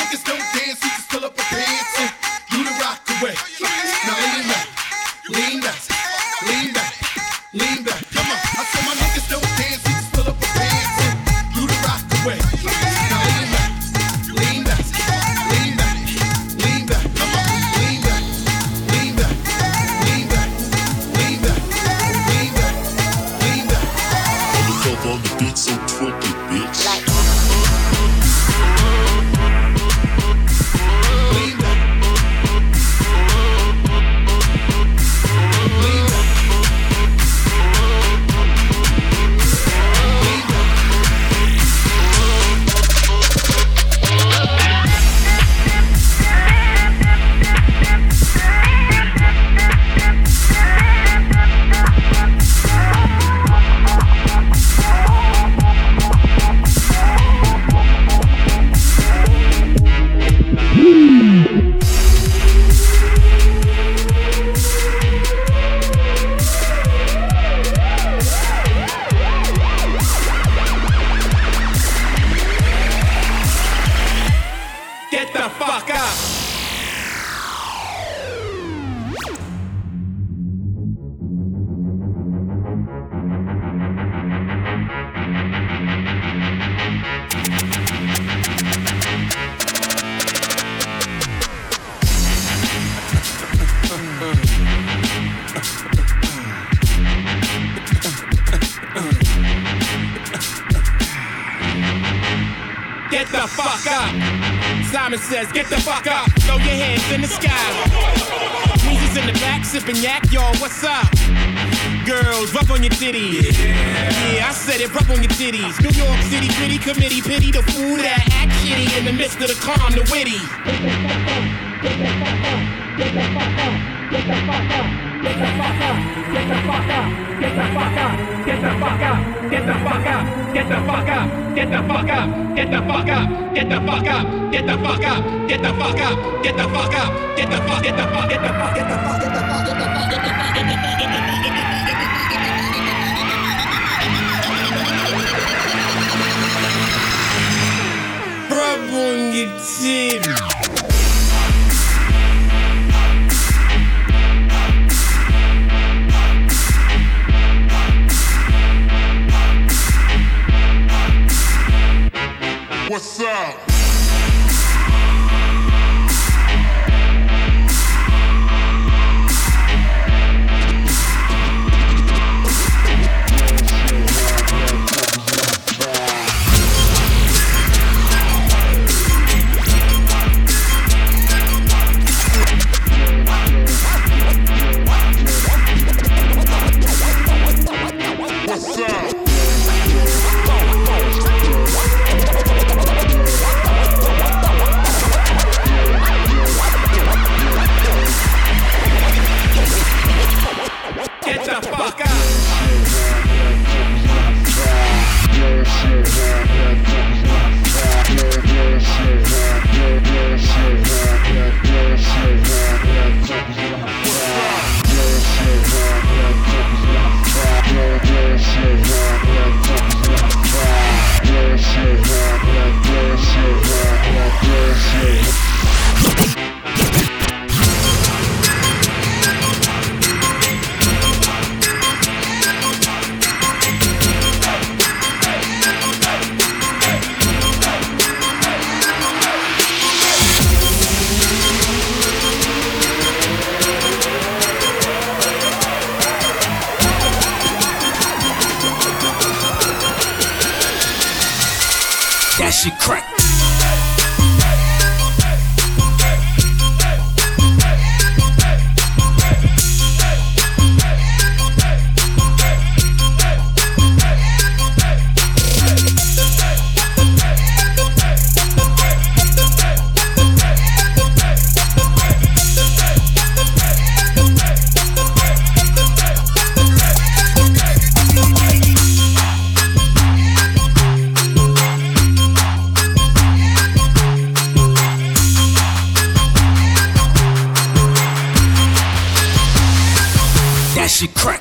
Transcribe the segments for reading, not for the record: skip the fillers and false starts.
niggas don't dance, you just pull up a pants and do the rock away. Now lean back, lean back, lean back, lean back. Come on, I said my niggas don't dance, you just pull up a pants and do the rock away. Now lean back, lean back, lean back, lean back. Come on, lean back, lean back, lean back, lean back, lean back, lean back. On the cover on the beat, so twerk it, bitch. Get the fuck up! Get the fuck up! Simon says, get the fuck up! Throw your hands in the sky! Weezy's in the back, sipping yak, y'all, what's up? Girls, rub on your titties. Yeah, I said it, rub on your titties. New York City, gritty committee, pity the fool that act shitty in the midst of the calm, the witty. Get the fuck up! Get the fuck up! Get the fuck up! Get the fuck up! Get the fuck up! Get the fuck up! Get the fuck up! Get the fuck up! Get the fuck up! Get the fuck up! Get the fuck up! Get the fuck up! Get the fuck up! Get the fuck up! Get the fuck up! Get the fuck! Get the fuck! Get the fuck! Get the fuck! Get the fuck! Get the fuck! Get the fuck! Get the fuck! Rub on your titty. What's up? What's up? Get the fuck up! That shit crack. That shit crack.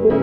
Twerk it.